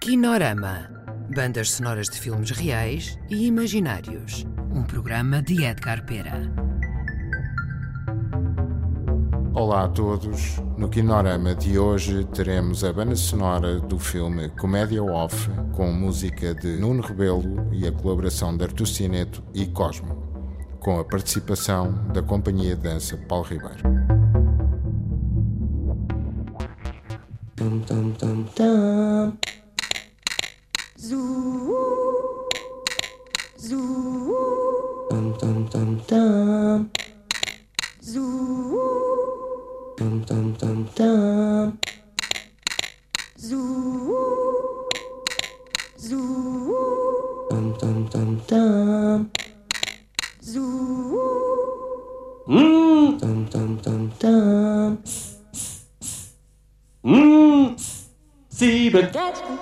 Kinorama. Bandas sonoras de filmes reais e imaginários. Um programa de Edgar Pera. Olá a todos. No Kinorama de hoje teremos a banda sonora do filme Comédia Off, com música de Nuno Rebelo e a colaboração de Artur Cineto e Cosmo, com a participação da Companhia de Dança Paulo Ribeiro. Tum tum tum tum. Zoo, zoo. Tum tum tum tum. Zoo, tum tum tum tum. Zoo, zoo. Tum tum tum tum. Zoo, tum tum tum tum. Sieben.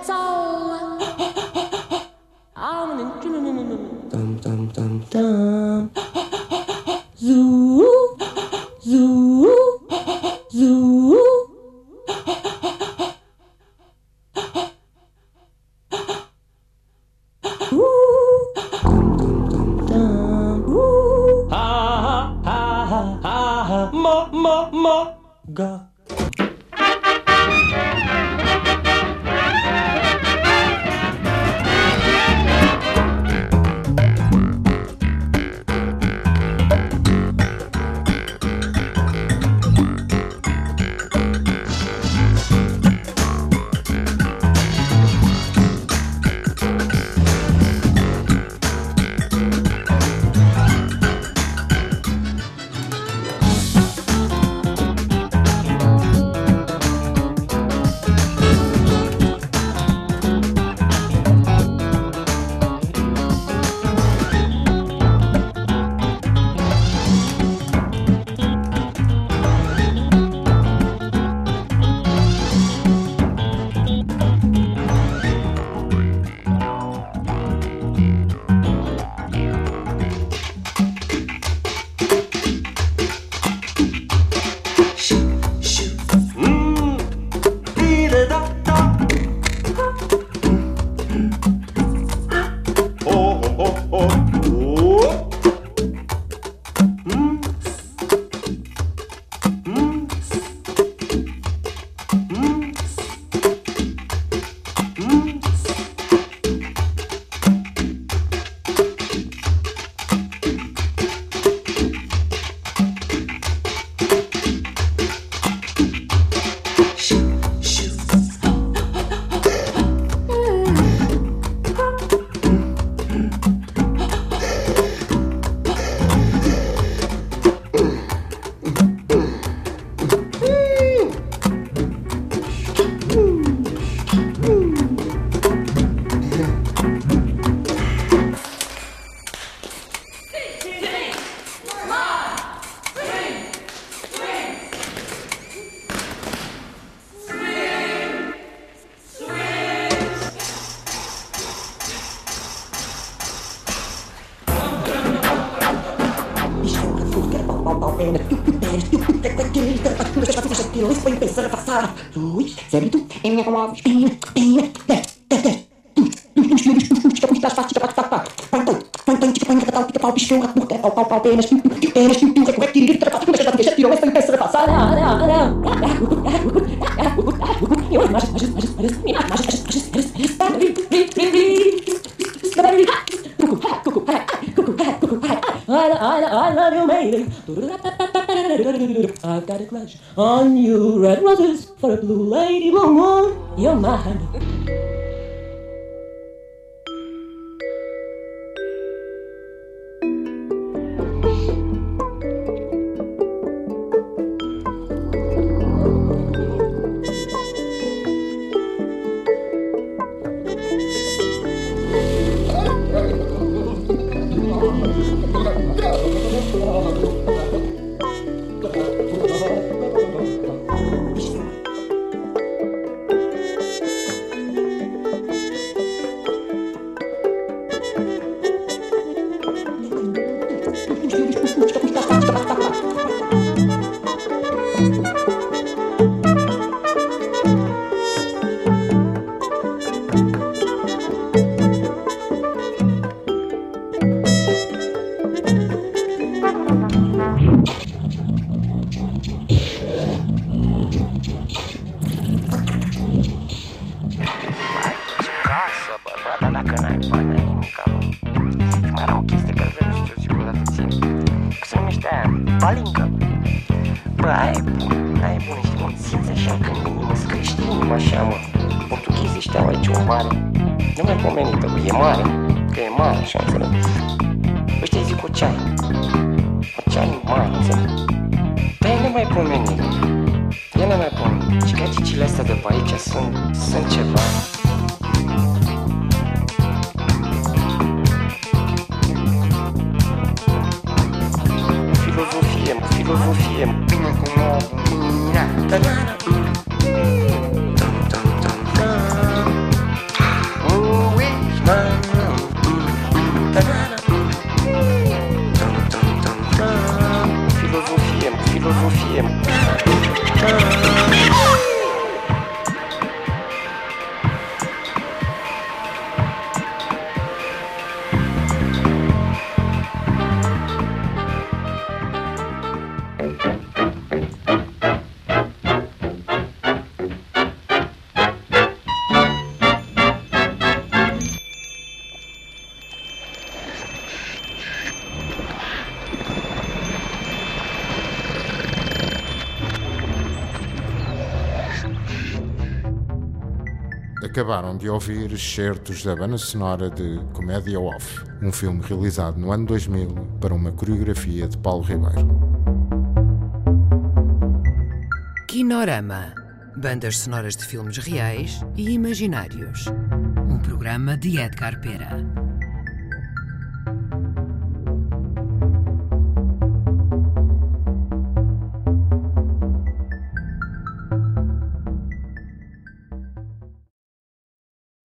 Tum tum tum tum. Zoo, zoo, zoo. Tum tum tum tum. Ha ha ha ha ha. Mo ga. I love you, baby. I've got a crush on you. Red roses for a blue lady, blue moon. You're mine. încă. Bă, aia e bună, știi, mă, simți așa că mă screște inima așa, mă. Portughezii ăștia au aici o mare, nemaipomenită, bă, e mare, că e mare, așa, înțeleg. Ăștia zic ocean mare, înțeleg. Dar e nemaipomenit, e nemaipomenit. Și cacicile astea de pe aici sunt ceva. Filozofie, bine cum o mâna. Filozofie. Acabaram de ouvir excertos da banda sonora de Comédia Off, um filme realizado no ano 2000 para uma coreografia de Paulo Ribeiro. Kinorama. Bandas sonoras de filmes reais e imaginários. Um programa de Edgar Pera.